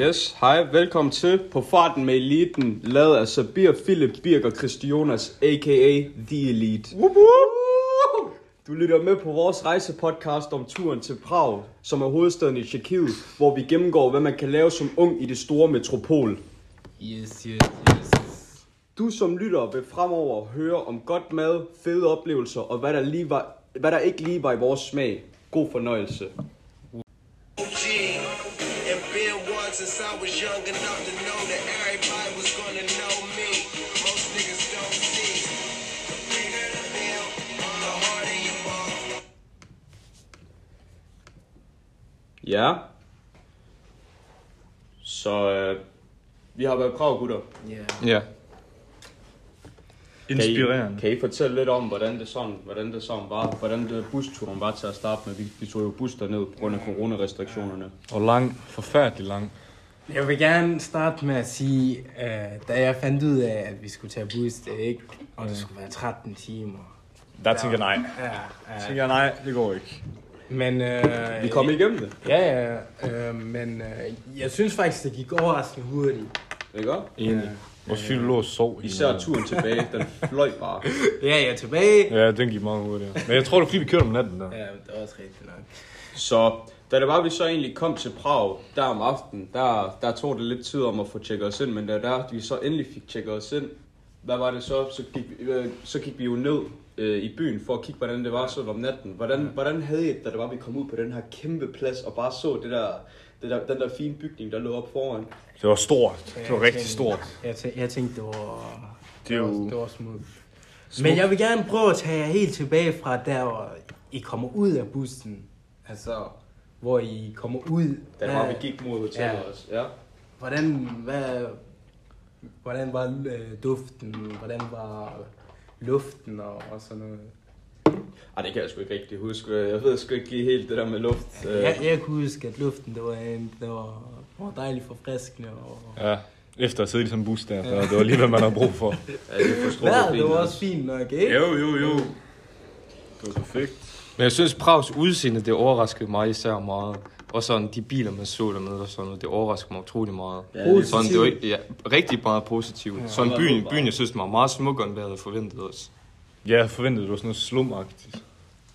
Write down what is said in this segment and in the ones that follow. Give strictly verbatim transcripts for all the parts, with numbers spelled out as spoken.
Yes, hej, velkommen til På Farten med Eliten, lavet af Sabir, Philip, Birk og Christionas, a k a. The Elite. Woop woop. Du lytter med på vores rejsepodcast om turen til Prag, som er hovedstaden i Tjekkiet, hvor vi gennemgår, hvad man kan lave som ung i det store metropol. Yes, yes, yes. Du som lytter vil fremover høre om godt mad, fede oplevelser og hvad der, lige var, hvad der ikke lige var i vores smag. God fornøjelse. Since I was young enough to know that everybody was gonna know me. Most niggas don't see. The bigger the bill, the harder you fall. Ja. Så øh, vi har været i Prag, gutter. Ja. Yeah. Ja. Inspirerende. Kan I, kan I fortælle lidt om, hvordan det sådan, hvordan det sådan var? Hvordan det busturen var til at starte med? Vi, vi tog jo bus derned på grund af coronarestriktionerne. Og lang, forfærdelig lang. Jeg vil gerne starte med at sige, uh, da jeg fandt ud af, at vi skulle tage bus, det ikke, og det skulle være tretten timer. Der tænker jeg nej. Ja, Der ja. tænker jeg nej, det går ikke. Men, uh, Vi kom igennem det. Ja, ja, uh, men uh, jeg synes faktisk, det gik overraskende hurtigt. Ikke også? Enig. Vores fyld lå og sov. Især turen tilbage, den fløj bare. Ja, jeg er tilbage. Ja, den gik meget hurtigt. Men jeg tror, det er fordi, vi kørte om natten der. Ja, det var også rigtigt nok. Så da det var, vi så egentlig kom til Prag, der om aftenen, der, der tog det lidt tid om at få tjekket os ind, men da der, vi så endelig fik tjekket os ind, hvad var det så? Så gik, øh, så gik vi jo ned øh, i byen for at kigge, hvordan det var så om natten. Hvordan, hvordan havde I, da det var, vi kom ud på den her kæmpe plads og bare så det der, det der, den der fine bygning, der lå op foran? Det var stort. Det var Jeg rigtig tænkte- stort. Jeg, tænkte, jeg tænkte, det var, Det er det var, jo- det var smukt. Men jeg vil gerne prøve at tage jer helt tilbage fra der, hvor I kommer ud af bussen. Altså, hvor I kommer ud. Da det var, vi gik mod hotellet Ja. også. Ja. Hvordan, hvad, hvordan var øh, duften? Hvordan var luften og, og sådan noget? Ej, det kan jeg sgu ikke rigtig huske. Jeg ved sgu ikke helt det der med luft. Øh, Jeg, jeg kunne huske, at luften det var, en, det var, var dejligt forfriskende. Og Ja, efter at sidde i sådan en bus der, så det var lige, hvad man havde brug for. Ja, det forstår vejret, jeg det fint var også fint nok, ikke? Jo, jo, jo. Det var perfekt. Men jeg synes, Prags udseende, det overraskede mig især meget. Og sådan de biler, man så dernede og sådan noget, det overraskede mig utrolig meget. Ja, det er Sådan, det var ikke- ja, rigtig meget positivt. Ja, sådan det var byen, bare- byen, jeg synes, den var meget smukkere, end hvad jeg havde forventet også. Ja, jeg forventede, det var sådan noget slumagtigt.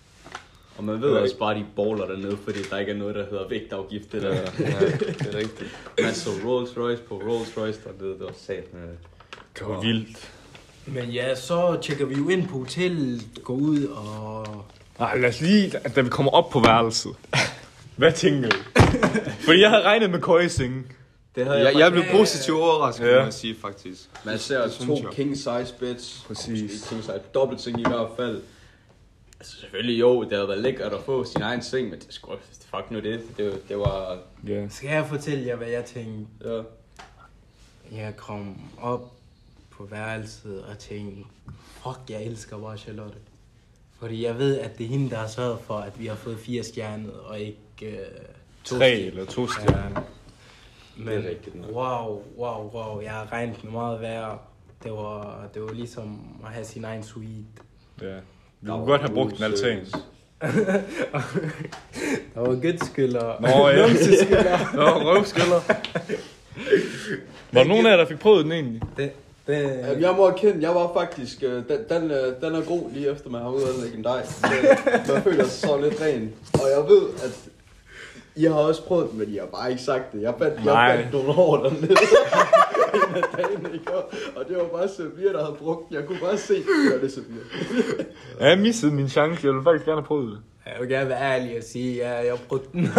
Og man ved også bare, at de bowler dernede, fordi der ikke er noget, der hedder vægtafgift. Det der. Ja, det er rigtigt. Man så Rolls Royce på Rolls Royce dernede, det var sat med. Det var vildt. Men ja, så tjekker vi jo ind på hotellet, går ud og... Nej, lad os lige, da vi kommer op på værelset. Hvad tænker I? Fordi jeg havde regnet med køjesenge. Det havde Jeg, jeg, jeg blev positivt overrasket, Ja. må jeg sige, faktisk. Man ser Det synes to jeg. king size beds. Præcis. Ikke king size, dobbelt seng i hvert fald. Altså selvfølgelig jo, det havde været lækkert at få sin egen seng, men det skulle fuck nu det. Det, var- det var... Ja. Skal jeg fortælle jer, hvad jeg tænkte? Ja. Jeg kom op på værelset og tænkte, fuck, jeg elsker bare Charlotte. Fordi jeg ved, at det er hende, der har sørget for, at vi har fået fire stjerner, og ikke øh, to Tre stjerner. eller to stjerner. Men Det er rigtigt nok. wow, wow, wow, jeg har regnet med meget værre. Det var, det var ligesom at have sin egen suite. Ja. Vi kunne godt have brugt en altan. Der var gødskylder. Nå, ja. Numseskylder. Nå, røvskælder. Var der nogen af jer, der fik prøvet den egentlig? det, det, Jamen, jeg må erkende, jeg var faktisk, øh, den, den, øh, den er god lige efter man har ude at lægge en dej. Så man føler sig så lidt ren. Og jeg ved, at I har også prøvet den, men I har bare ikke sagt det. Jeg fandt, Nej. jeg fandt nogle år dernede. En af dagene, ikke? Og det var bare Sabir, der havde brugt den. Jeg kunne bare se, det det Sabir. Ja, jeg missede min chance. Jeg ville faktisk gerne have prøvet det. jeg vil gerne være ærlig og sige, at jeg, jeg brugte den.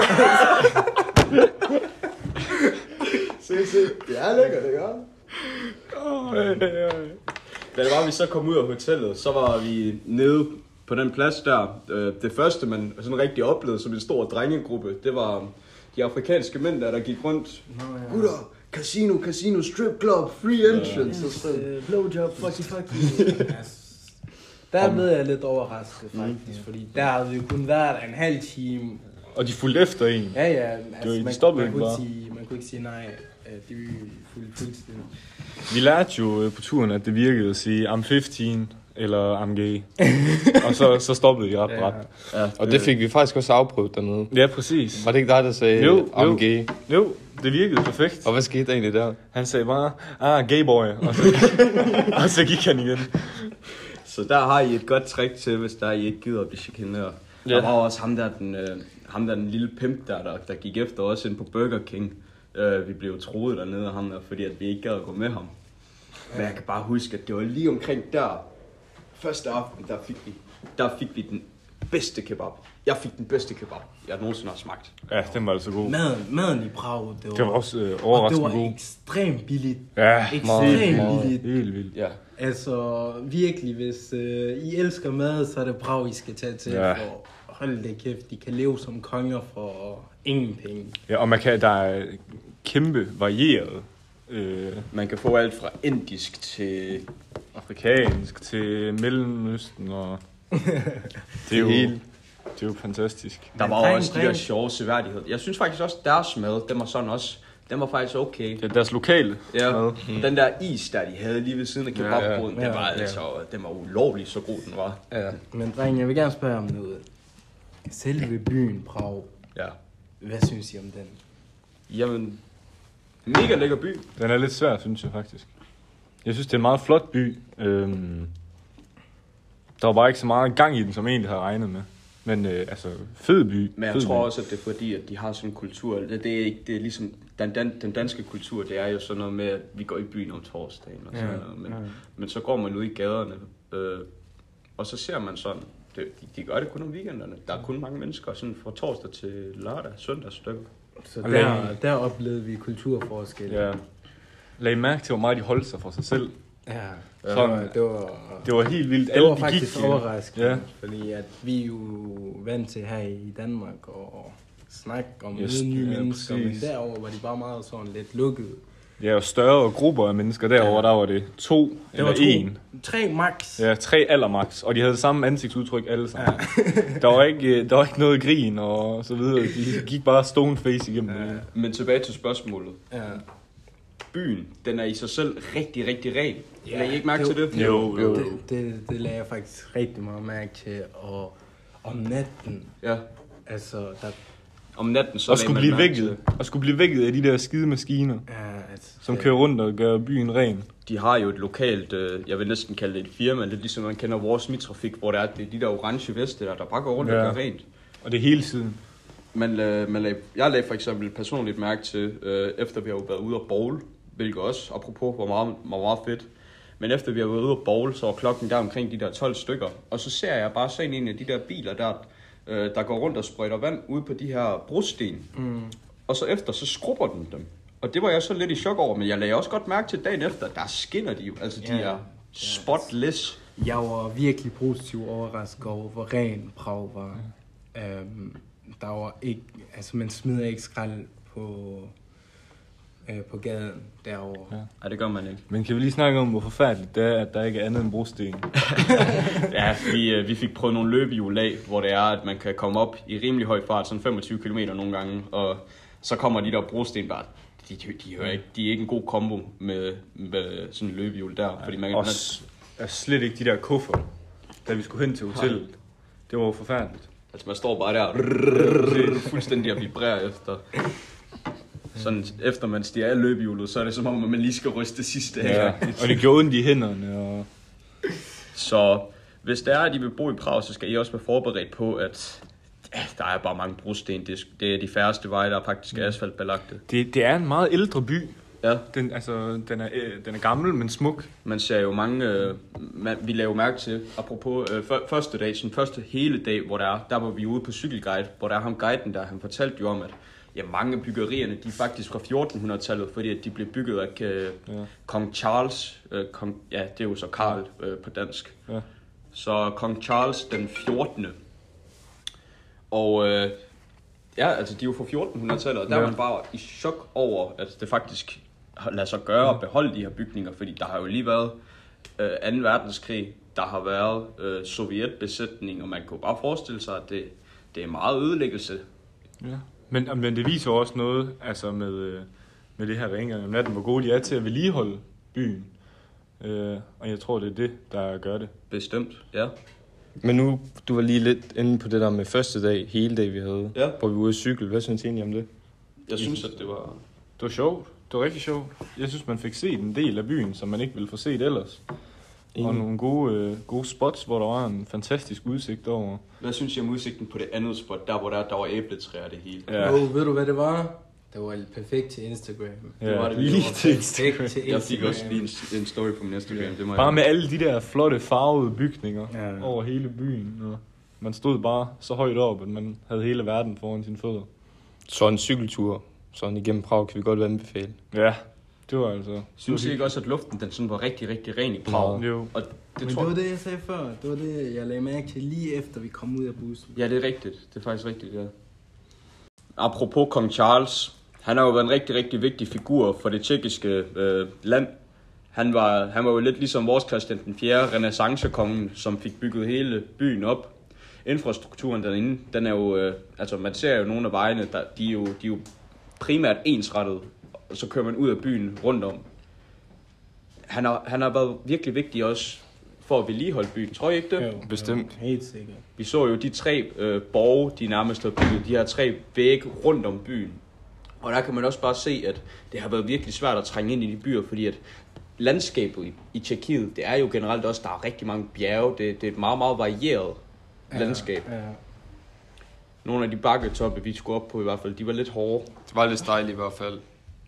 Se, se. Det er lækkert, ikke? Oh, ja, ja, ja. Da det var, vi så kom ud af hotellet, så var vi nede på den plads der. Øh, Det første, man sådan rigtig oplevede som en stor drengegruppe, det var de afrikanske mænd der, der gik rundt. Nå, ja. Gutter, casino, casino, strip club, free entrance. Og sådan. Øh, blowjob, fucky fucky. Der blev jeg lidt overrasket faktisk, fordi der havde vi jo kun været en halv time. Og de fulgte efter en. Ja, ja, de altså, man, stoppede man, ikke kunne bare. ikke sige, man kunne ikke sige nej. Øh, De var fuldt fuldstændig. Vi lærte jo øh, på turen, at det virkede at sige, I'm femten eller I'm gay. Og så, så stoppede de ret Ja. bræt. Ja, Og det fik vi faktisk også afprøvet dernede. Ja, præcis. Var det ikke dig, der sagde, Jo, I'm jo. gay? Jo, Det virkede perfekt. Og hvad skete der egentlig der? Han sagde bare, ah, gay boy, og så, og så gik han igen. Så der har I et godt trick til, hvis der I ikke gider at blive chikaneret. Ja. Der var også ham der, den, øh, ham der, den lille pimp der, der, der gik efter os ind på Burger King. Øh, vi blev troet dernede af ham der, fordi at vi ikke gad at gå med ham. Men jeg kan bare huske, at det var lige omkring der, første aften, der fik vi, der fik vi den bedste kebab. Jeg fik den bedste kebab, jeg nogensinde har smagt. Ja, den var altså god. Maden, maden i Prag, det var, Det var også øh, og det overraskende var god. ekstremt billigt. Ja, Ekstremt meget. billigt. helt vildt. Ja. Altså, virkelig, hvis øh, I elsker mad, så er det Prag, I skal tage til. Ja. For hold det kæft, de kan leve som konger for ingen penge. Ja, og man kan, der er kæmpe varieret. Øh, Man kan få alt fra indisk til... afrikansk til Mellemøsten, og det er jo, det er jo fantastisk. Der Men var dreng, også de dreng. der sjove seværdigheder. Jeg synes faktisk også, deres mad, den var sådan også... Den var faktisk okay. Det er deres lokale Ja, mad. den der is, der de havde lige ved siden af kebabbruden, Ja, ja. den var Ja. altså, den var ulovlig, så god den var. Ja. Men dreng, jeg vil gerne spørge om noget. Selve byen Prag, Ja. hvad synes I om den? Jamen, mega lækker by. Den er lidt svær, synes jeg faktisk. Jeg synes, det er en meget flot by. Øhm, der var bare ikke så meget gang i den, som jeg egentlig havde regnet med. Men øh, altså, fed by. Men jeg fed tror by. også, at det er fordi, at de har sådan en kultur. Det, det er ikke, det er ligesom, den, dan, den danske kultur, det er jo sådan noget med, at vi går i byen om torsdagen og sådan Ja, noget. Men, ja. men så går man ud i gaderne, øh, og så ser man sådan, det, de, de gør det kun om weekenderne. Der er kun mange mennesker, sådan fra torsdag til lørdag, søndag stykker. Så Og der, lad- der oplevede vi kulturforskel. Ja. Lag mærke til, hvor meget de holdt sig for sig selv. Ja, Sådan. det var, det var, Det var helt vildt. det Alle, var de faktisk gik, øh, overraskende, Ja. fordi at vi er jo vant til her i Danmark og snakke om Yes, yes, nye ja, mennesker, men præcis. derover var de bare meget sådan lidt lukkede. Ja, og større grupper af mennesker derovre, der var det to Det eller var to, en. tre max. Ja, tre allermax, og de havde samme ansigtsudtryk alle sammen. Ja. der, var ikke, der var ikke noget grin og så videre. De gik bare stone face igennem ja. det. Men tilbage til spørgsmålet. Ja. Byen, den er i sig selv rigtig, rigtig ren. Ja, Lagde I ikke mærke det til var- det? Jo, jo. Det, det, det lagde jeg faktisk rigtig meget mærke til, og om natten, Ja. altså, der, Om natten, så Og lagde skulle man blive mærke til vækket. Og skulle blive vækket af de der skide maskiner, ja, altså, som det- kører rundt og gør byen ren. De har jo et lokalt, øh, jeg vil næsten kalde det et firma, lidt ligesom man kender vores Mitrafik, hvor der er det er de der orange veste der, der bare går rundt Ja. og gør rent. Og det hele tiden. Man, øh, man lag, jeg lagde for eksempel personligt mærke til, øh, efter vi har jo været ude og bowl, hvilket også, apropos, var meget, var meget fedt. Men efter vi har været ude og bowl, så var klokken der omkring de der tolv stykker. Og så ser jeg bare sådan en af de der biler der, øh, der går rundt og sprøjter vand ude på de her brosten. Mm. Og så efter, så skrubber den dem. Og det var jeg så lidt i chok over, men jeg lagde også godt mærke til dagen efter, der skinner de jo. Altså, de Ja. er spotless. Jeg var virkelig positivt overrasket over, hvor ren Prag var. Øhm, der var ikke, altså man smider ikke skrald på, øh, på gaden derovre. Ja. Nej, det gør man ikke. Men kan vi lige snakke om, hvor forfærdeligt det er, at der ikke er andet end brosten? Ja, vi, øh, vi fik prøvet nogle løbehjul af, hvor det er, at man kan komme op i rimelig høj fart, sådan femogtyve kilometer nogle gange, og så kommer de der brosten bare, de, de, de, hører ikke, de er ikke en god kombo med, med sådan en løbehjul der, fordi man, man Også er slet ikke de der kuffer, da vi skulle hen til hotellet. Det var jo forfærdeligt. altså man står bare der, fuldstændig at vibrere efter. Sådan, efter man stiger af løbehjulet, så er det som om, at man lige skal ryste det sidste af. Ja. Og det gjorde ondt i hænderne. Og... Så hvis det er, at I vil bo i Prag, så skal I også være forberedt på, at ja, der er bare mange brosten. Det er, det er de færreste veje, der er faktisk asfaltbelagte. Det, det er en meget ældre by. Ja, Den, altså, den, er, øh, den er gammel, men smuk. man ser jo mange, øh, man, vi laver mærke til, apropos øh, f- første dag, sådan første hele dag, hvor der er, der var vi ude på cykelguide, hvor der er ham guiden der, han fortalte jo om, at ja, mange af byggerierne, de er faktisk fra fjortenhundredetallet, fordi at de blev bygget af øh, Ja. kong Charles, øh, kong, ja, det er jo så Karl øh, på dansk. Ja. Så kong Charles den fjortende. Og øh, ja, altså de er jo fra fjortenhundredetallet, og der Ja. er man bare i chok over, at det faktisk lader sig gøre at beholde de her bygninger, fordi der har jo lige været øh, anden verdenskrig, der har været øh, sovjetbesætning, og man kunne bare forestille sig, at det, det er meget ødelæggelse. Ja. Men, men det viser jo også noget altså med, øh, med det her rengøring om natten, hvor gode de er til at vedligeholde byen. Øh, og jeg tror, det er det, der gør det. Bestemt, ja. Men nu, du var lige lidt inde på det der med første dag, hele dag vi havde, Ja. hvor vi var ude at cykle. Hvad synes I egentlig om det? Jeg synes, at det var, Det var sjovt. Det var rigtig sjovt. Jeg synes, man fik set en del af byen, som man ikke ville få set ellers. Og nogle gode, øh, gode spots, hvor der var en fantastisk udsigt over. Hvad synes I om udsigten på det andet spot, der hvor der, der var æbletræer det hele? Ja. Jo, ved du hvad det var? Det var perfekt til Instagram. Ja, det var det lige var til Instagram. Til Jeg fik også lige en, en story på min Instagram. Ja. Det må Bare jeg... med alle de der flotte farvede bygninger ja. over hele byen. Og man stod bare så højt op, at man havde hele verden foran sine fødder. Så en cykeltur, sådan igennem Prag, kan vi godt anbefale. Ja, det var altså... Synes I ikke også, at luften den sådan var rigtig, rigtig ren i Prag? Jo. Og det, Men tror... det var det, jeg sagde før. Det var det, jeg lagde mærke til lige efter, vi kom ud af bussen. Ja, det er rigtigt. Det er faktisk rigtigt, ja. Apropos kong Charles. Han har jo været en rigtig, rigtig vigtig figur for det tjekkiske øh, land. Han var, han var jo lidt ligesom vores Christian den fjerde, renaissancekongen, som fik bygget hele byen op. Infrastrukturen derinde, den er jo, øh, altså man ser jo nogle af vejene, der, de, er jo, de er jo primært ensrettet, og så kører man ud af byen rundt om. Han har, han har været virkelig vigtig også for at vedligeholde byen, tror I ikke det? Jo, Bestemt. Jo, helt sikkert. Vi så jo de tre øh, borge, de nærmest har bygget, de her tre vægge rundt om byen. Og der kan man også bare se, at det har været virkelig svært at trænge ind i de byer, fordi at landskabet i, i Tjekkiet, det er jo generelt også, der er rigtig mange bjerge, det, det er et meget, meget varieret Ja, landskab. Ja. Nogle af de bakketoppe, vi skulle op på i hvert fald, de var lidt hårde. Det var lidt stejligt i hvert fald.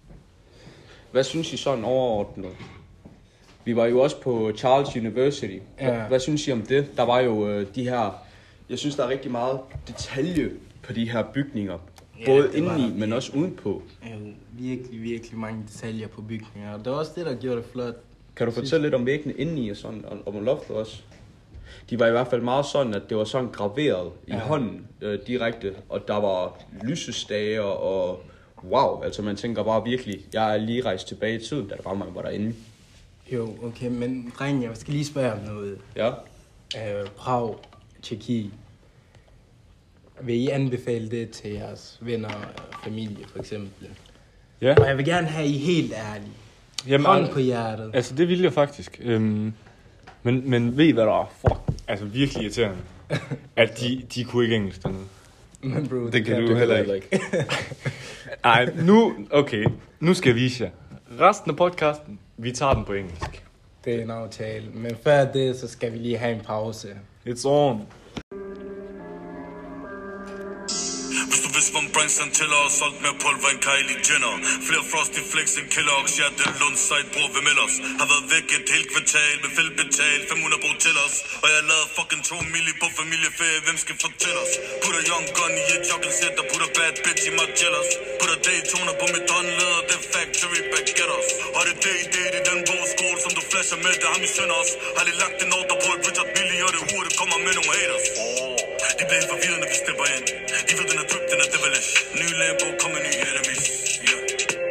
Hvad synes I sådan overordnet? Vi var jo også på Charles University. Hvad, Ja. hvad synes I om det? Der var jo øh, de her... Jeg synes, der er rigtig meget detalje på de her bygninger. Ja, Både det var indeni, der. men også udenpå. Jo, virkelig, virkelig mange detaljer på bygninger. Og det var også det, der gjorde det flot. Kan du fortælle lidt om væggene indeni og sådan, og om loftet også? De var i hvert fald meget sådan, at det var sådan graveret i Ja. hånden øh, direkte, og der var lysestager og wow, altså man tænker bare virkelig, jeg er lige rejst tilbage i tiden, da der var mange var derinde. Jo, okay, men drenge, jeg skal lige spørge om noget. Ja. Øh, Prag, Tjekkiet. Vil I anbefale det til jeres venner og familie, for eksempel? Ja. Og jeg vil gerne have I helt ærlige. Jamen, Hånd al- på hjertet. Altså, det ville jeg faktisk. Øhm, men, men ved I, hvad der er? Fuck, altså virkelig irriterende. At de, de kunne ikke engelsk dernede. Men bro, Det kan du heller ikke. Ej, nu, okay, nu skal jeg vise jer. Resten af podcasten, vi tager den på engelsk. Det er en aftale. Men før det, så skal vi lige have en pause. It's on. Hvis du vidste, hvor Branson tæller og solgt mere pulver end Kylie Jenner. Flere Frosty Flex end Kellogg's, ja, det er Lundside, bror, hvem ellers? Har været væk et helt kvartal med feltbetal, fem hundrede brug til os. Og jeg lavede fucking to milli på familieferie, hvem skal fortælle os? Putter young gun i et jogging-sæt, og putter bad bitch i Margellas. Putter Daytona på mit håndleder, det er factory baguettes. Og det er day date i den bogskål, som du flasher med, det har vi sender os. Har lige lagt en ordre på et Richard Mille, og det hurtigt kommer med nogle haters. De bliver helt forvirrede, når vi stepper ind. De ved, den er drip, den er devilish. Ny Lambo, kommer ny enemies. Yeah.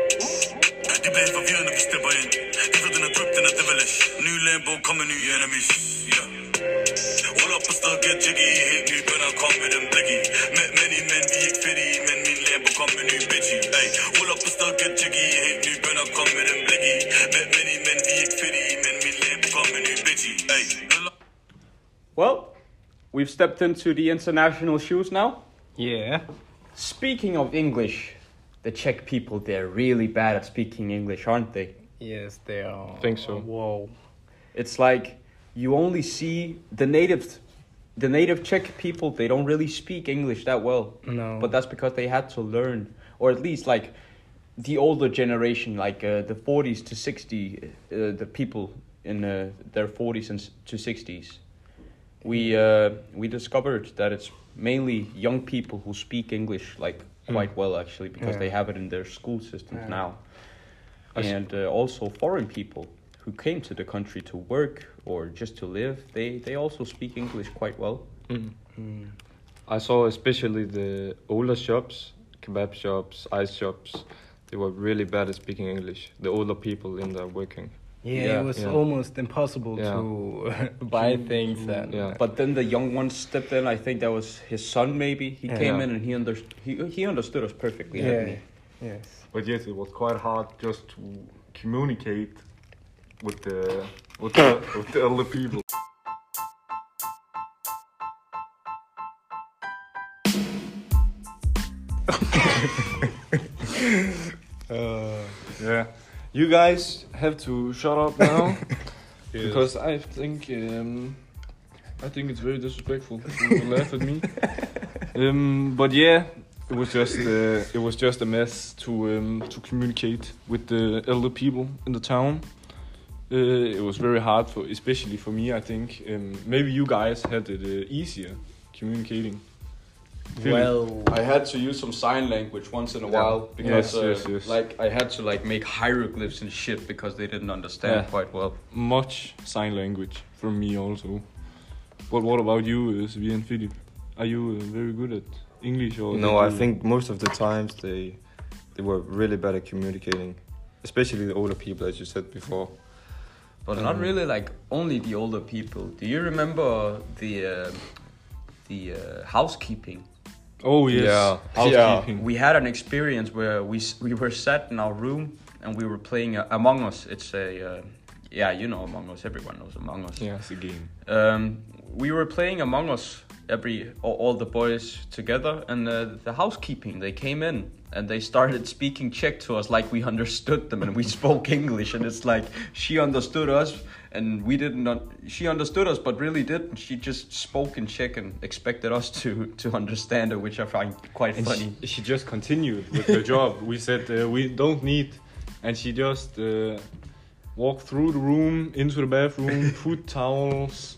De bliver helt forvirrede, når vi stepper ind. De ved, den er drip, den er devilish. Ny Lambo, kommer ny enemies. Yeah. Roll up på sted, get jiggy. Helt ny bønder, kom med dem blikky. Med many men, vi er ikke fedt i, men min Lambo, kom med ny bitchy. Ay. Roll up på sted, get jiggy. Helt ny bønder, kom med dem blikky. Med many men, vi er ikke fedt i, men min Lambo, kom med ny bitchy. Ay. Well, we've stepped into the international shoes now. Yeah. Speaking of English, the Czech people, they're really bad at speaking English, aren't they? Yes, they are. Think so. Wow. It's like you only see the native, the native Czech people, they don't really speak English that well. No. But that's because they had to learn, or at least like the older generation, like uh, the forties to sixties, uh, the people in uh, their forties and s- to sixties. We uh, we discovered that it's mainly young people who speak English like quite well actually because Yeah. they have it in their school systems Yeah. now. I s- And uh, also foreign people who came to the country to work or just to live, they, they also speak English quite well. Mm. Mm. I saw especially the older shops, kebab shops, ice shops. They were really bad at speaking English. The older people in there working. Yeah, Yeah. it was Yeah. almost impossible Yeah. to buy things and Yeah. But then the young ones stepped in. I think that was his son maybe. He Yeah. came Yeah. in and he, under- he, he understood us perfectly, yeah. hadn't he? Yes. But yes, it was quite hard just to communicate with the with the, with the elder people. Uh, You guys have to shut up now because I think um, I think it's very disrespectful to laugh at me. Um, but yeah, it was just uh, it was just a mess to um, to communicate with the elder people in the town. Uh, it was very hard for, especially for me. I think um, maybe you guys had it uh, easier communicating. Philip? Well, I had to use some sign language once in a Yeah. while because Yes, uh, yes, yes. like I had to like make hieroglyphs and shit because they didn't understand Yeah. quite well. Much sign language from me also. But what about you, uh, Svi and Philip? Are you uh, very good at English or? No, did I you- think most of the times they they were really bad at communicating, especially the older people, as you said before. But not Um, really like only the older people. Do you remember the uh, the uh, housekeeping? Oh yes, Yeah. housekeeping. We had an experience where we s- we were sat in our room and we were playing uh, Among Us. It's a uh, yeah, you know Among Us. Everyone knows Among Us. Yeah. It's a game. Um, we were playing Among Us, every all, all the boys together, and uh, the housekeeping, they came in and they started speaking Czech to us like we understood them, and we spoke English, and it's like she understood us and we didn't. Un- she understood us, but really didn't. She just spoke in Czech and expected us to to understand her, which I find quite And funny. she, she just continued with her job. We said uh, we don't need, and she just uh, walked through the room into the bathroom, put towels.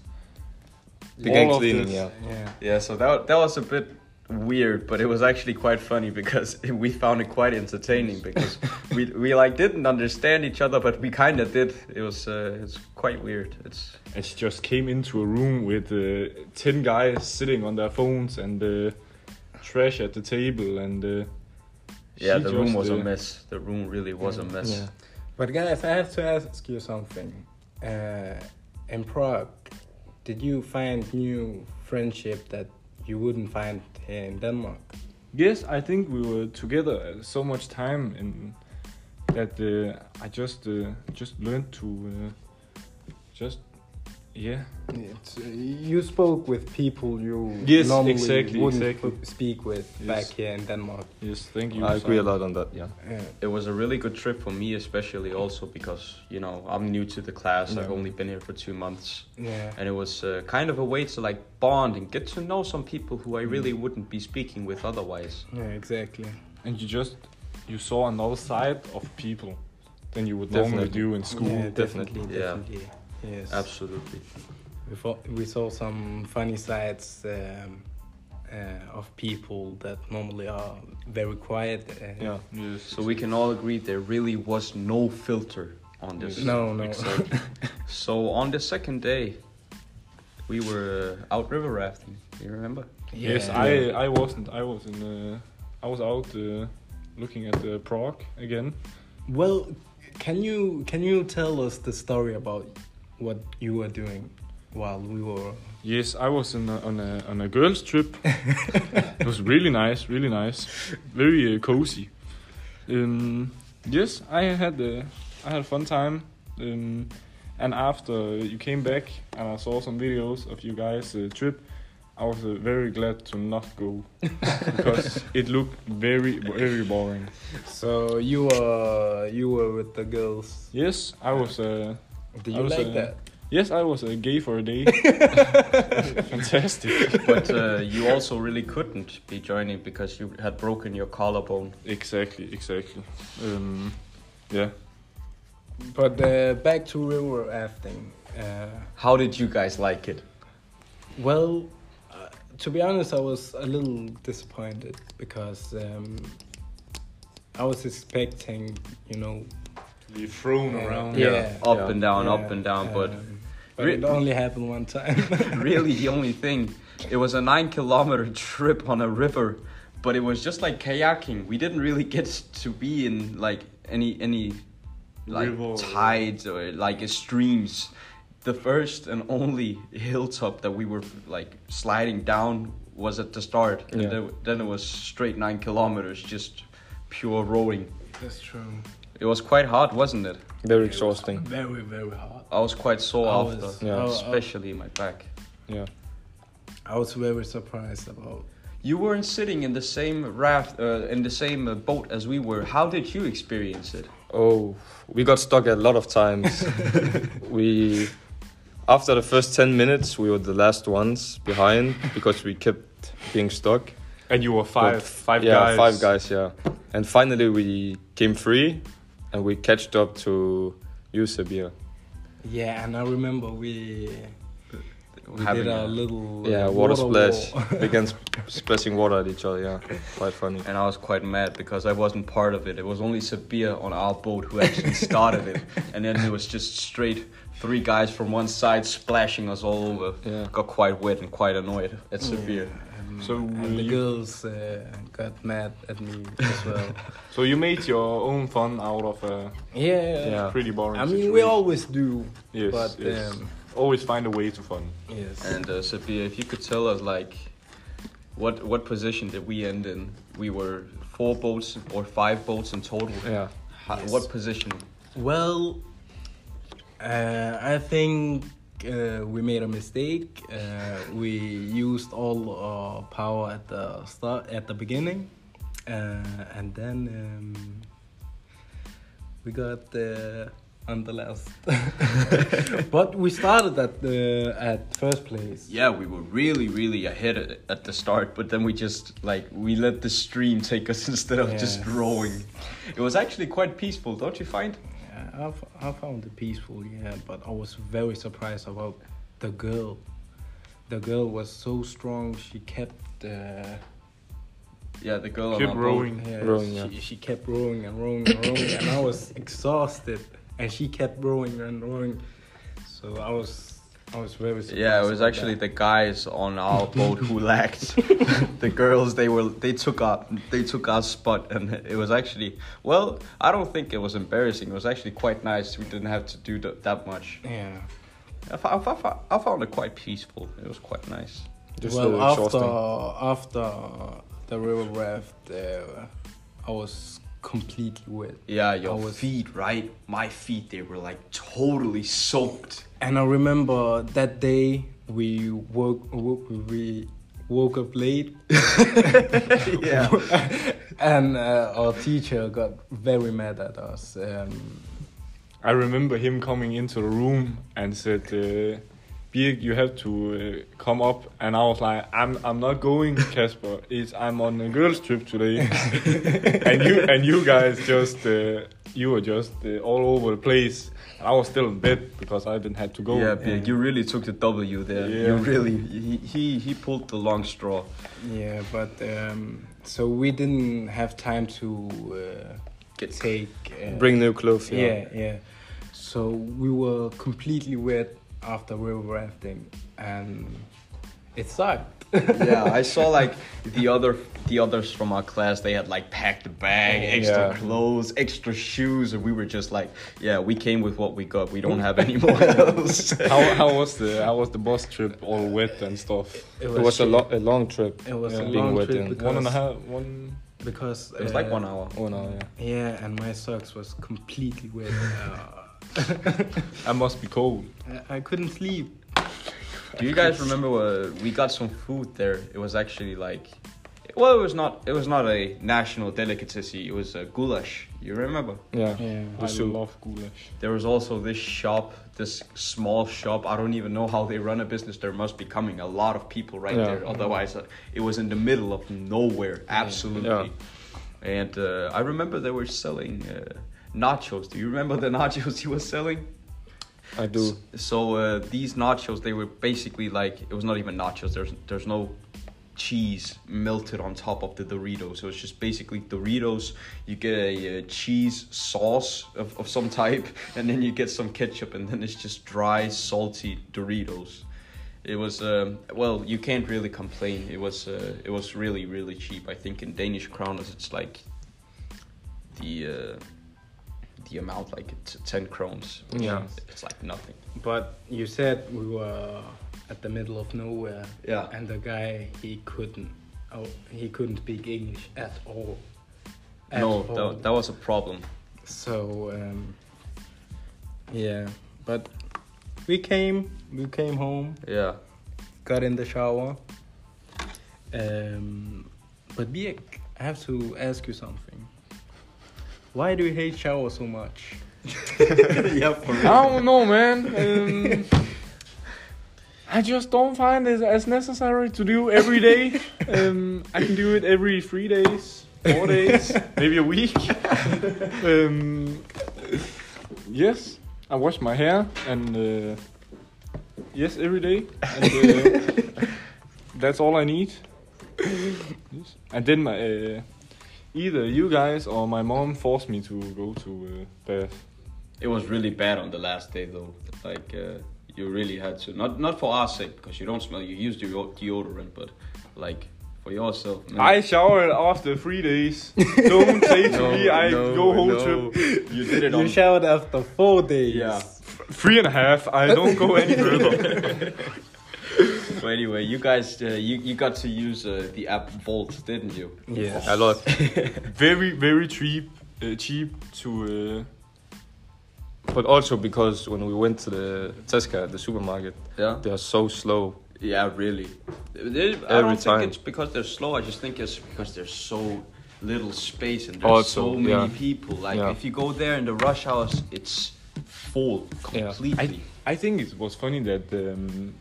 Began all of cleaning, this. yeah. yeah. Yeah, so that that was a bit weird, but it was actually quite funny because we found it quite entertaining because we we like didn't understand each other, but we kind of did. It was uh, it's quite weird. It's And she just came into a room with uh, ten guys sitting on their phones and uh, trash at the table, and uh, yeah, she the room just, was a uh, mess. The room really was a mess. Yeah. But guys, I have to ask you something. Uh, in Prague, did you find new friendship that you wouldn't find here in Denmark? Yes, I think we were together uh, so much time, and that uh, I just uh, just learned to uh, just yeah. It's, uh, you spoke with people you Yes, normally exactly, wouldn't exactly. sp- speak with Yes. back here in Denmark. Yes, thank you. I agree a Simon. lot on that. Yeah. Yeah. It was a really good trip for me, especially also because you know I'm new to the class. Yeah. I've only been here for two months. Yeah. And it was uh, kind of a way to like bond and get to know some people who I really wouldn't be speaking with otherwise. Yeah, exactly. And you just you saw another side of people than you would normally Definitely. do in school. Yeah, definitely, Yeah. definitely. Yes. Absolutely. We, fo- we saw some funny sides um, uh, of people that normally are very quiet. And Yeah. Yes. So we can all agree there really was no filter on this. No, no. Exactly. So on the second day, we were uh, out river rafting. Do you remember? Yes, Yeah. I I wasn't. I was in. Uh, I was out uh, looking at uh, Prague again. Well, can you can you tell us the story about what you were doing while we were? Yes, I was in a, on a on a girls trip. It was really nice, really nice, very uh, cozy. Um, yes, I had uh, I had a fun time. Um, and after you came back and I saw some videos of you guys' uh, trip, I was uh, very glad to not go because it looked very very boring. So you were you were with the girls. Yes, I was. Uh, Do I you was, like uh, that? Yes, I was uh, gay for a day. Fantastic. But uh, you also really couldn't be joining because you had broken your collarbone. Exactly, exactly. Um, yeah. But uh, back to river rafting. Uh, How did you guys like it? well, uh, to be honest, I was a little disappointed because um, I was expecting, you know, Be thrown uh, around. Yeah, Up Yeah. and down, yeah, up and down, but um, but Re- it only happened one time. really the only thing, it was a nine kilometer trip on a river, but it was just like kayaking. We didn't really get to be in like any any like River. tides or like streams. The first and only hilltop that we were like sliding down was at the start, and Yeah. then, then it was straight nine kilometers, just pure rowing. That's true. It was quite hard, wasn't it? Very exhausting. Very, very hard. I was quite sore I was- after, Yeah. I- I- especially my back. Yeah. I was very surprised about. You weren't sitting in the same raft, uh, in the same uh, boat as we were. How did you experience it? Oh, we got stuck a lot of times. we, after the first ten minutes, we were the last ones behind because we kept being stuck. And you were five, But- five yeah, guys. five guys, yeah. And finally we came free and we catched up to you, Sabir. Yeah, and I remember we we Having did a a- little Yeah, uh, water, splash. war. Began sp- splashing water at each other, yeah. Quite funny. And I was quite mad because I wasn't part of it. It was only Sabir on our boat who actually started it. And then it was just straight three guys from one side splashing us all over. Yeah. Got quite wet and quite annoyed at Sabir. And, So and the you- girls uh, got mad at me as well. So you made your own fun out of a Yeah, Yeah. pretty boring I mean, we situation. always do. Yes, but yes. um, Always find a way to fun. yes. And uh, Sabir, if you could tell us, like, what what position did we end in? We were four boats or five boats in total. Yeah. How, Yes. What position? Well, uh, I think uh, we made a mistake. Uh, we used all our power at the start, at the beginning, uh, and then um, we got uh, on the last. But we started at the at first place. Yeah, we were really, really ahead at, at the start, but then we just, like, we let the stream take us instead of just Yes. rowing. It was actually quite peaceful, don't you find? Yeah, I, f- I found it peaceful, yeah, but I was very surprised about the girl. The girl was so strong. She kept, uh, Yeah, the girl Keep on our rowing. yeah, Rowing, she, yeah. she kept rowing and rowing and rowing, and I was exhausted, and she kept rowing and rowing. So I was, I was very boat. surprised. Yeah, it was about actually that. the guys on our boat who lacked. The girls, they were, they took our, they took our spot, and it was actually, well, I don't think it was embarrassing. It was actually quite nice. We didn't have to do th- that much. Yeah. I, f- I, f- I, f- I found it quite peaceful. It was quite nice. Just well, uh, after exhausting. after the river raft, uh, I was completely wet. Yeah, your I was- feet, right? My feet, they were like totally soaked. And I remember that day we woke, woke we woke up late. Yeah. And uh, our teacher got very mad at us. Um, I remember him coming into the room and said, uh, Birk, you have to uh, come up. And I was like, I'm I'm not going, Casper. It's, I'm on a girls trip today. and you and you guys just, uh, you were just uh, all over the place. And I was still in bed because I didn't have to go. Yeah, Birk, you really took the W there. Yeah. You really, he, he, he pulled the long straw. yeah, but um, so we didn't have time to uh, Get- take. Uh, Bring new clothes, yeah. Yeah, yeah. So we were completely wet after river rafting, and it sucked. Yeah, I saw like the other the others from our class. They had like packed a bag, extra Yeah. clothes, extra shoes, and we were just like, yeah, we came with what we got. We don't have any more else. how how was the how was the bus trip all wet and stuff? It It was a, shit. lo- a long trip. It was yeah, a being long wet trip in. because- One and a half, one. because It was like uh, one hour. Oh no, yeah. Yeah, and my socks was completely wet. Uh, I must be cold. I, I couldn't sleep. Do you guys remember uh, we got some food there? It was actually like, well, it was not it was not a national delicacy. It was a goulash. You remember? Yeah. Yeah. I soup. love goulash. There was also this shop, this small shop. I don't even know how they run a business. There must be coming a lot of people right Yeah. there. Otherwise, uh, it was in the middle of nowhere. Absolutely. Yeah. And uh, I remember they were selling uh, nachos. Do you remember the nachos he was selling? I do. So uh, these nachos, they were basically like, it was not even nachos. There's there's no cheese melted on top of the Doritos. So it's just basically Doritos. You get a, uh cheese sauce of, of some type, and then you get some ketchup, and then it's just dry, salty Doritos. It was um, well, you can't really complain. It was uh, it was really really cheap. I think in Danish kroners it's like the uh, the amount like it's ten krones. Yeah. It's like nothing. But you said we were at the middle of nowhere. Yeah. And the guy, he couldn't. Oh, he couldn't speak English at all. At no, all. that, that was a problem. So um, yeah, but we came. We came home. Yeah. Got in the shower. Um, but Birk, I have to ask you something. Why do you hate shower so much? Yeah, for I don't know, man. Um, I just don't find it as necessary to do every day. Um, I can do it every three days, four days, maybe a week. um, yes, I wash my hair and uh, yes, every day. And, uh, that's all I need. Yes. And then my uh, either you guys or my mom forced me to go to uh, bath. It was really bad on the last day though. Like uh, you really had to, not not for our sake because you don't smell. You use deo- deodorant, but like for yourself. Man. I showered after three days. Don't say to No, me I no, go whole no. trip. You did it You on. showered after four days. Yeah. Three and a half. I don't go any further. So anyway, you guys, uh, you you got to use uh, the app Volt, didn't you? Yes. A lot. Very very cheap. Uh, cheap to. Uh, But also because when we went to the Tesco, the supermarket, Yeah. they are so slow. Yeah, really. They- I Every don't time. think it's because they're slow. I just think it's because there's so little space and there's Also, so many yeah. people. Like Yeah. if you go there in the rush hours, it's full Yeah. completely. I, I think it was funny that um,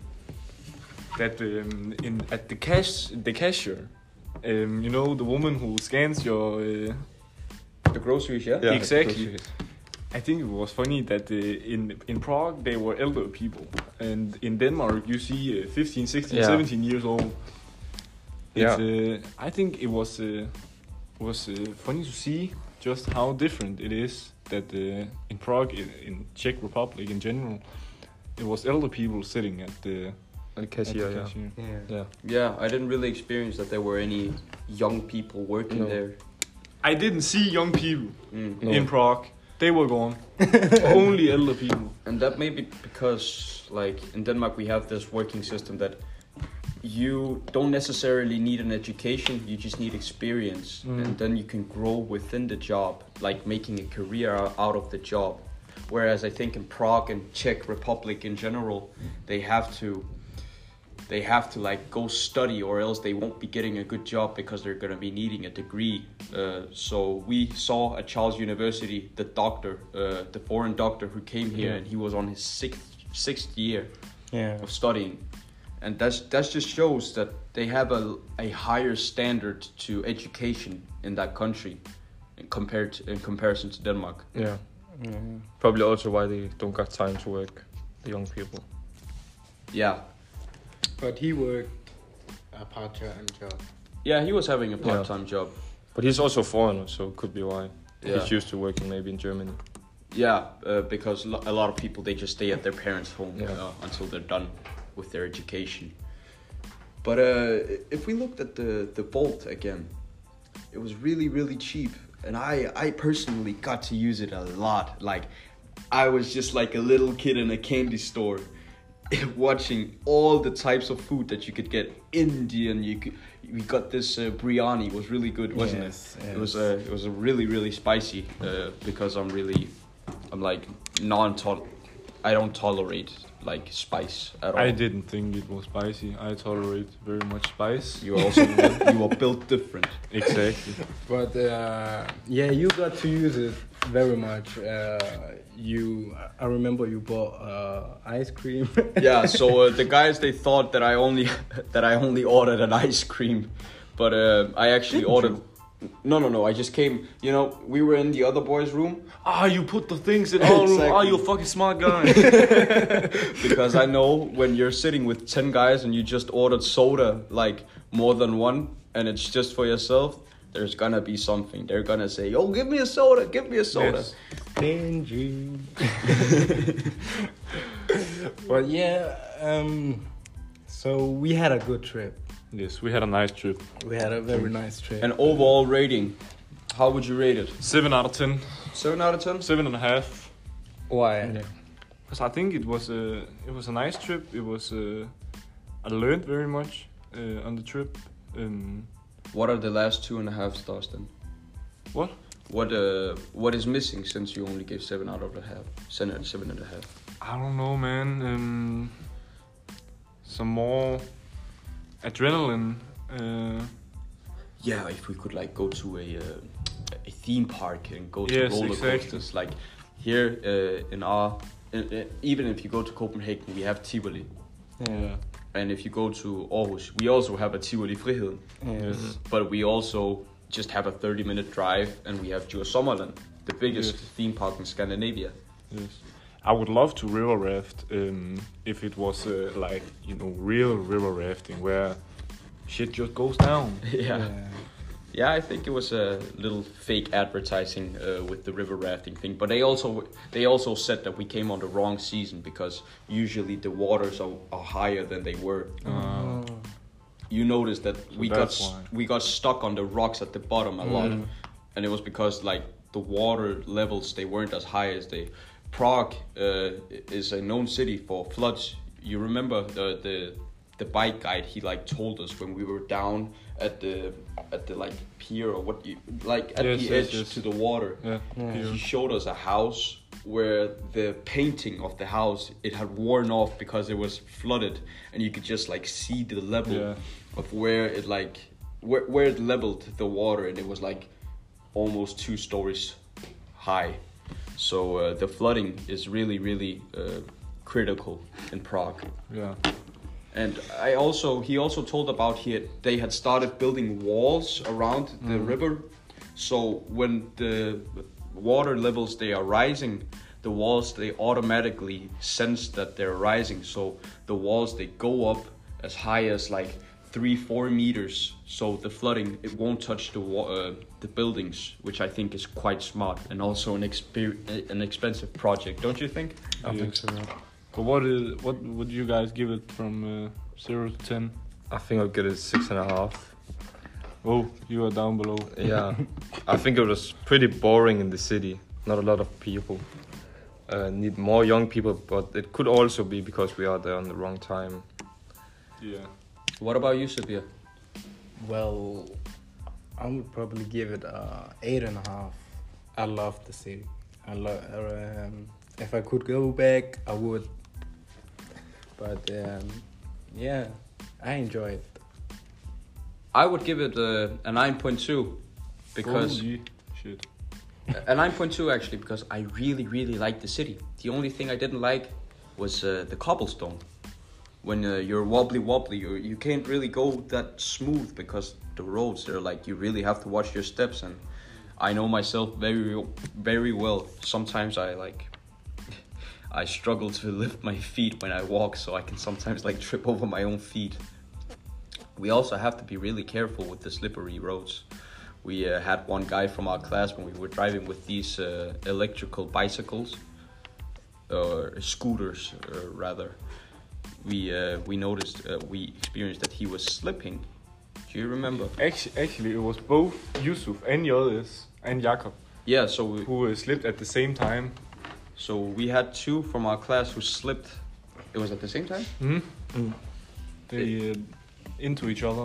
that um, in at the cash the cashier, um, you know the woman who scans your uh, The groceries, yeah. Yeah. exactly. I think it was funny that uh, in in Prague they were elder people, and in Denmark you see uh, fifteen, sixteen, Yeah. seventeen years old. Yeah. It's, uh, I think it was uh, was uh, funny to see just how different it is that uh, in Prague, in, in Czech Republic in general, it was elder people sitting at the, And at the cashier, yeah. cashier. Yeah. Yeah. Yeah, I didn't really experience that there were any young people working No. there. I didn't see young people Mm. No. in Prague. They were gone. Only elder people. And that may be because, like, in Denmark we have this working system that you don't necessarily need an education, you just need experience. Mm. And then you can grow within the job, like making a career ou- out of the job. Whereas I think in Prague and Czech Republic in general, they have to they have to like go study or else they won't be getting a good job because they're going to be needing a degree. Uh, so we saw at Charles University the doctor, uh, the foreign doctor who came here, and he was on his sixth sixth year Yeah. of studying, and that's that just shows that they have a a higher standard to education in that country, in compared to, in comparison to Denmark. Yeah. Yeah. Probably also why they don't got time to work, the young people. Yeah, But he worked a part-time job. yeah, he was having a part-time job. But he's also foreigner, so it could be why. Yeah. He's used to working maybe in Germany. Yeah, uh, because lo- a lot of people they just stay at their parents' home Yeah. uh, until they're done with their education. But uh, if we looked at the the Volt again, it was really really cheap, and I I personally got to use it a lot. Like I was just like a little kid in a candy store, watching all the types of food that you could get. Indian, you could. We got this uh, biryani. It was really good, wasn't Yes, it? It was yes. uh, it was a really really spicy uh, because I'm really I'm like non tol I don't tolerate like spice at all. I didn't think it was spicy. I tolerate very much spice. You are also you are built different. Exactly. But uh, yeah, you got to use it very much. Uh, you, I remember you bought uh, ice cream. Yeah. So uh, the guys they thought that I only that I only ordered an ice cream, but uh, I actually ordered. No, no, no. I just came. You know, we were in the other boys' room Ah, you put the things in all. Exactly. Ah, you a fucking smart guy. because I know when you're sitting with ten guys and you just ordered soda, like more than one, and it's just for yourself. There's gonna be something. They're gonna say, "Yo, give me a soda. Give me a soda." Yes. Benji. But yeah, um, so we had a good trip. Yes, we had a nice trip. We had a very nice trip. An overall rating, how would you rate it? Seven out of ten. Seven out of ten. Seven and a half. Why? Yeah. Because I think it was a it was a nice trip. It was uh, I learned very much uh, on the trip. Um, What are the last two and a half stars then? what? What uh what is missing since you only gave seven out of a half? Seven, seven and a half. I don't know, man. Um, some more adrenaline. Uh, Yeah, if we could like go to a uh, a theme park and go to Yes, roller exactly. coasters. Like here uh, in our, in, uh, even if you go to Copenhagen, we have Tivoli. Yeah. And if you go to Aarhus, we also have a Tivoli Friheden. Yes. But we also just have a thirty minute drive, and we have Djurs Sommerland, the biggest Yes. theme park in Scandinavia. Yes. I would love to river raft um, if it was uh, like, you know, real river rafting where shit just goes down. Yeah. Yeah, I think it was a little fake advertising uh, with the river rafting thing, but they also they also said that we came on the wrong season because usually the waters are, are higher than they were. Uh, You noticed that we got that's s- why. we got stuck on the rocks at the bottom a lot, and it was because like the water levels they weren't as high as they. Prague uh, is a known city for floods. You remember the the the bike guide? He like told us when we were down at the at the like pier or what you like at Yes, the yes, edge yes. to the water. yeah. He showed us a house where the painting of the house it had worn off because it was flooded, and you could just like see the level Yeah. of where it like where where it leveled the water, and it was like almost two stories high. So uh, the flooding is really really uh, critical in Prague. Yeah. And I also he also told about here they had started building walls around the river, so when the water levels they are rising, the walls they automatically sense that they're rising, so the walls they go up as high as like three four meters, so the flooding it won't touch the wa- uh, the buildings, which I think is quite smart and also an exper- an expensive project, don't you think? I think so. But what is what would you guys give it from uh, zero to ten? I think I'll get it six and a half. Oh, you are down below. Yeah, I think it was pretty boring in the city. Not a lot of people. Uh, need more young people, but it could also be because we are there on the wrong time. Yeah. What about you, Sabir? Well, I would probably give it a eight and a half. I love the city. I love. Um, if I could go back, I would. But um, yeah, I enjoy it. I would give it a, a nine point two because Holy shit. a nine point two actually because I really really like the city. The only thing I didn't like was uh, the cobblestone. When uh, you're wobbly wobbly, you you can't really go that smooth because the roads are like you really have to watch your steps, and I know myself very very well. Sometimes I like I struggle to lift my feet when I walk, so I can sometimes like trip over my own feet. We also have to be really careful with the slippery roads. We uh, had one guy from our class when we were driving with these uh, electrical bicycles, or scooters uh, rather. We uh, we noticed uh, we experienced that he was slipping. Do you remember? Actually, actually, it was both Yusuf and Yildiz and Jakob Yeah. So we, who uh, slipped at the same time. so we had two from our class who slipped. It was at the same time. Hmm. They uh, into each other.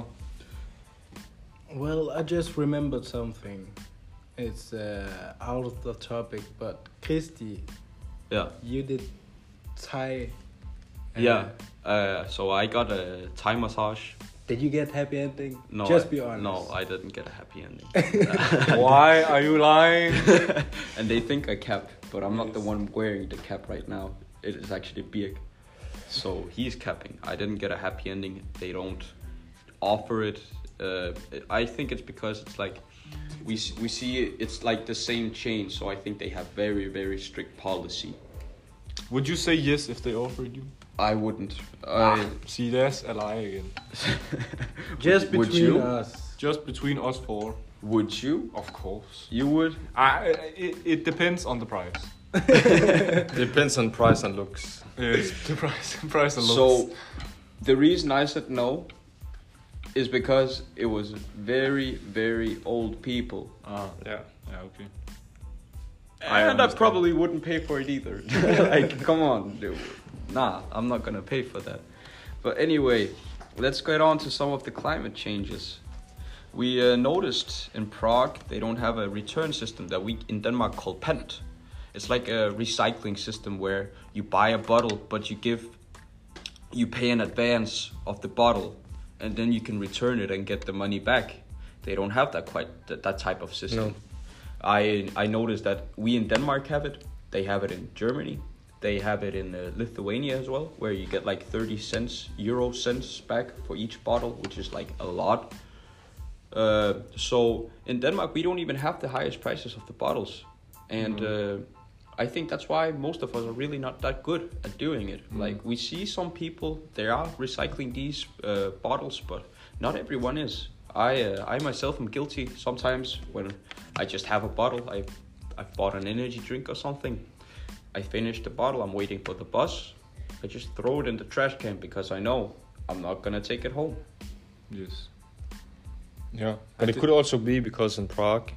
Well, I just remembered something. It's uh, out of the topic, but Christy, Yeah. you did Thai. uh, Yeah. Uh, so I got a Thai massage. Did you get happy ending? No, Just I, be honest. No, I didn't get a happy ending. Why are you lying? And they think I cap, but I'm not the one wearing the cap right now. It is actually Birk. So he's capping. I didn't get a happy ending. They don't offer it. Uh, I think it's because it's like we s- we see it, it's like the same chain. So I think they have very very strict policy. Would you say yes if they offered you? I wouldn't. I, See, there's a lie again. Just Would between you? us. Just between us four, would you? of course. You would? I, it, it depends on the price. Depends on price and looks. Yes, the price, price and looks. So, the reason I said no is because it was very, very old people. Ah, yeah, yeah, okay. I and I understand. probably wouldn't pay for it either. Like, come on, dude. Nah, I'm not gonna pay for that. But anyway, let's get on to some of the climate changes. We uh, noticed in Prague they don't have a return system that we in Denmark call pant. It's like a recycling system where you buy a bottle, but you give, you pay in advance of the bottle, and then you can return it and get the money back. They don't have that quite that, that type of system. No. I I noticed that we in Denmark have it. They have it in Germany. They have it in uh, Lithuania as well, where you get like thirty cents, euro cents back for each bottle, which is like a lot. Uh, so in Denmark, we don't even have the highest prices of the bottles. And uh, I think that's why most of us are really not that good at doing it. Mm. Like we see some people, they are recycling these uh, bottles, but not everyone is. I uh, I myself am guilty sometimes when I just have a bottle. I I've bought an energy drink or something. I finish the bottle, I'm waiting for the bus. I just throw it in the trash can because I know I'm not gonna take it home. Yes. Yeah, but it could also be because in Prague,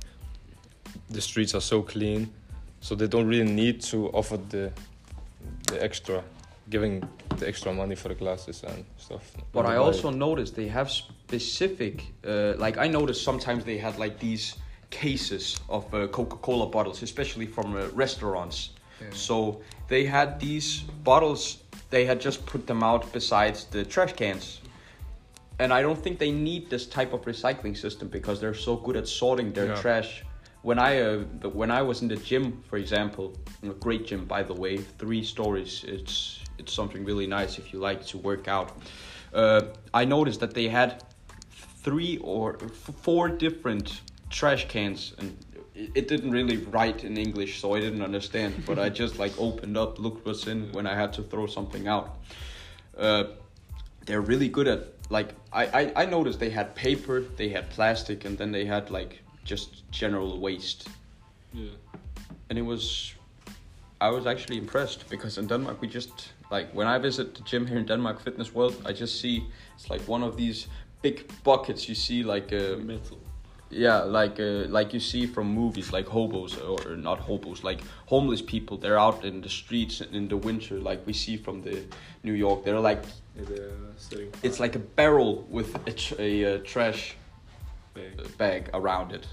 the streets are so clean, so they don't really need to offer the the extra, giving the extra money for the glasses and stuff. But When I they buy also it. noticed they have specific, uh, like I noticed sometimes they had like these cases of uh, Coca-Cola bottles, especially from uh, restaurants. Yeah. So they had these bottles, they had just put them out besides the trash cans. And I don't think they need this type of recycling system because they're so good at sorting their Yeah. trash. When I uh, but when I was in the gym, for example, a great gym by the way, three stories. It's it's something really nice if you like to work out. Uh, I noticed that they had three or f- four different trash cans, and it, it didn't really write in English, so I didn't understand. But I just like opened up, looked what's in when I had to throw something out. Uh, they're really good at like I, I I noticed they had paper, they had plastic, and then they had like just general waste. Yeah. And it was, I was actually impressed because in Denmark we just, like when I visit the gym here in Denmark Fitness World, I just see it's like one of these big buckets you see like uh, Metal. yeah, like uh, like you see from movies like hobos or not hobos, like homeless people. They're out in the streets in the winter, like we see from the New York. They're like, Yeah, they're setting it's like a barrel with a, tr- a uh, trash bag. bag around it.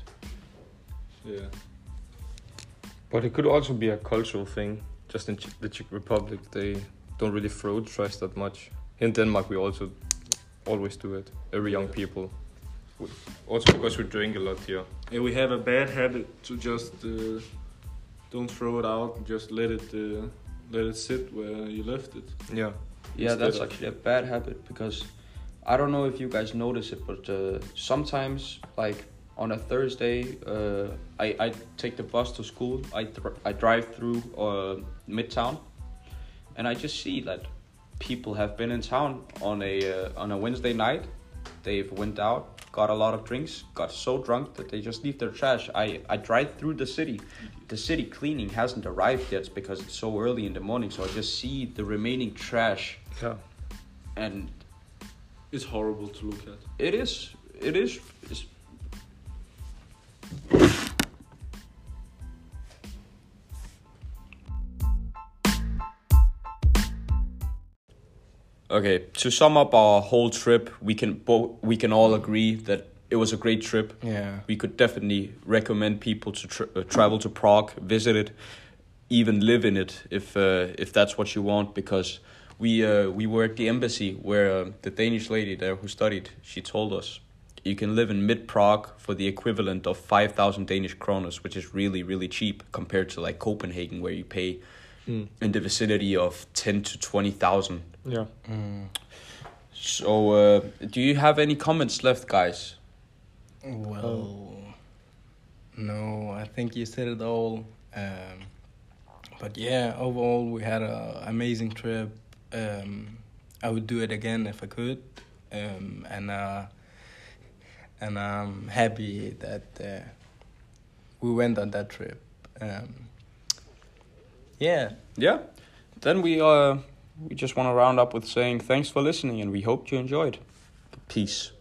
Yeah. But it could also be a cultural thing. Just in Ch- the Czech Republic, they don't really throw trash that much. In Denmark, we also always do it. Every young people. Also because we drink a lot here. Yeah, we have a bad habit to just uh, don't throw it out. Just let it uh, let it sit where you left it. Yeah. Yeah, Instead that's of- actually a bad habit because I don't know if you guys notice it, but uh, sometimes, like on a Thursday, uh, I, I take the bus to school. I th- I drive through uh, Midtown, and I just see that people have been in town on a uh, on a Wednesday night. They've went out, got a lot of drinks, got so drunk that they just leave their trash. I, I drive through the city. The city cleaning hasn't arrived yet because it's so early in the morning. So I just see the remaining trash, Yeah. and It's horrible to look at. it is it is. It's, okay, to sum up our whole trip, we can both we can all agree that it was a great trip. Yeah. We could definitely recommend people to tra- uh, travel to Prague, visit it, even live in it if uh, if that's what you want. Because we uh, we were at the embassy where uh, the Danish lady there who studied, she told us you can live in mid Prague for the equivalent of five thousand Danish kroners, which is really really cheap compared to like Copenhagen where you pay Mm. in the vicinity of ten to twenty thousand. Yeah. Mm. So, uh, do you have any comments left, guys? Well, no, I think you said it all. Um, but yeah, overall we had a amazing trip. Um, I would do it again if I could, um, and uh, and I'm happy that uh, we went on that trip. Um, yeah. Yeah. Then we uh we just want to round up with saying thanks for listening, and we hope you enjoyed. Peace.